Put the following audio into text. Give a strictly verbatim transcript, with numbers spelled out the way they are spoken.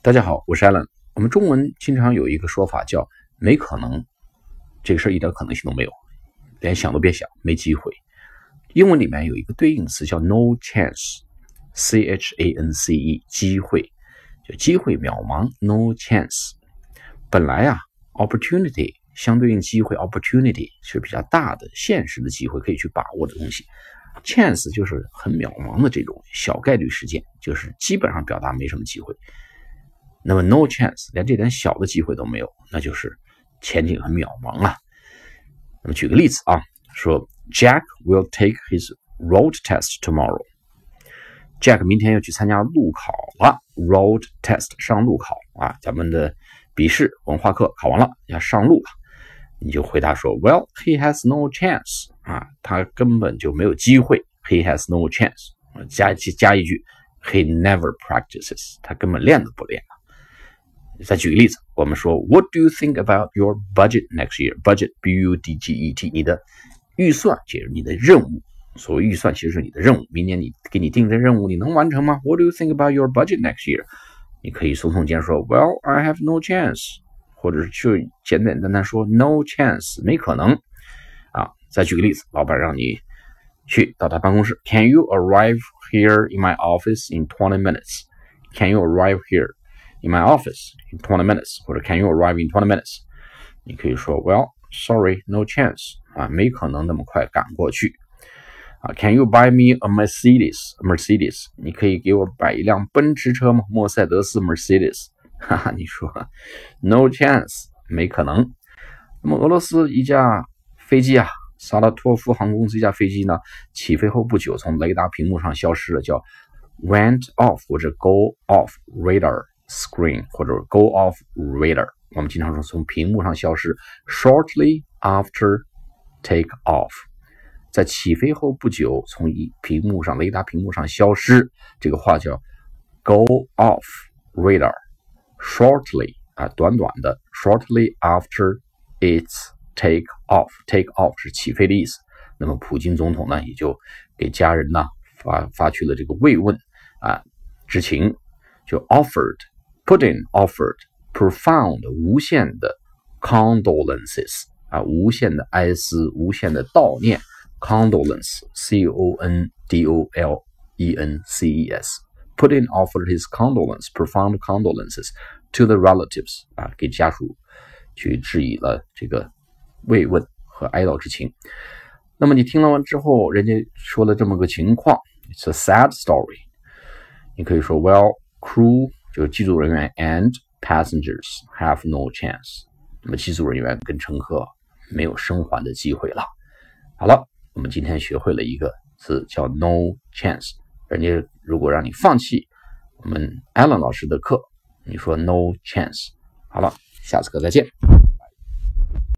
大家好，我是 Alan。我们中文经常有一个说法叫没可能，这个事儿一点可能性都没有，连想都别想，没机会。英文里面有一个对应词叫 no chance， C H A N C E， 机会，就机会渺茫 no chance。本来啊 opportunity 相对应机会 opportunity 是比较大的现实的机会可以去把握的东西， chance 就是很渺茫的这种小概率事件，就是基本上表达没什么机会。那么 no chance 连这点小的机会都没有，那就是前景很渺茫啊。那么举个例子啊，说 Jack will take his road test tomorrow。 Jack 明天要去参加路考了， road test 上路考啊，咱们的笔试文化课考完了，要上路了。你就回答说 Well, he has no chance 啊，他根本就没有机会， he has no chance， 加加一句 he never practices， 他根本练都不练。再举个例子，我们说 What do you think about your budget next year? Budget, B U D G E T， 你的预算就是你的任务，所谓预算其实是你的任务，明年你给你定的任务你能完成吗？ What do you think about your budget next year? 你可以耸耸肩说 Well, I have no chance， 或者就简简单单说 No chance， 没可能啊。再举个例子，老板让你去到他办公室， Can you arrive here in my office in twenty minutes? Can you arrive here in my office in twenty minutes， 或者 Can you arrive in twenty minutes？ 你可以说 Well, sorry, no chance 啊，没可能那么快赶过去啊。Can you buy me a Mercedes? A Mercedes， 你可以给我买一辆奔驰车吗？莫塞德斯 Mercedes， 哈哈，你说 No chance， 没可能。那么俄罗斯一架飞机啊，萨拉托夫航空公司一架飞机呢，起飞后不久从雷达屏幕上消失了，叫 went off 或者 go off radar screen 或者 go off radar， 我们经常说从屏幕上消失 shortly after take off， 在起飞后不久从屏幕上雷达屏幕上消失，这个话叫 go off radar shortly 啊，短短的 shortly after its take off， take off 是起飞的意思。那么普京总统呢也就给家人呢发发去了这个慰问啊之情，就 offered Putin offered profound 无限的 condolences 啊，无限的哀思，无限的悼念 condolence C O N D O L E N C E S Putin offered his condolence profound condolences to the relatives 啊，给家属去致以了这个慰问和哀悼之情。那么你听了完之后，人家说了这么个情况 It's a sad story， 你可以说 Well, crew就是机组人员 and passengers have no chance， 那么机组人员跟乘客没有生还的机会了。好了，我们今天学会了一个词叫 no chance， 人家如果让你放弃我们 Alan 老师的课，你说 no chance。 好了，下次课再见。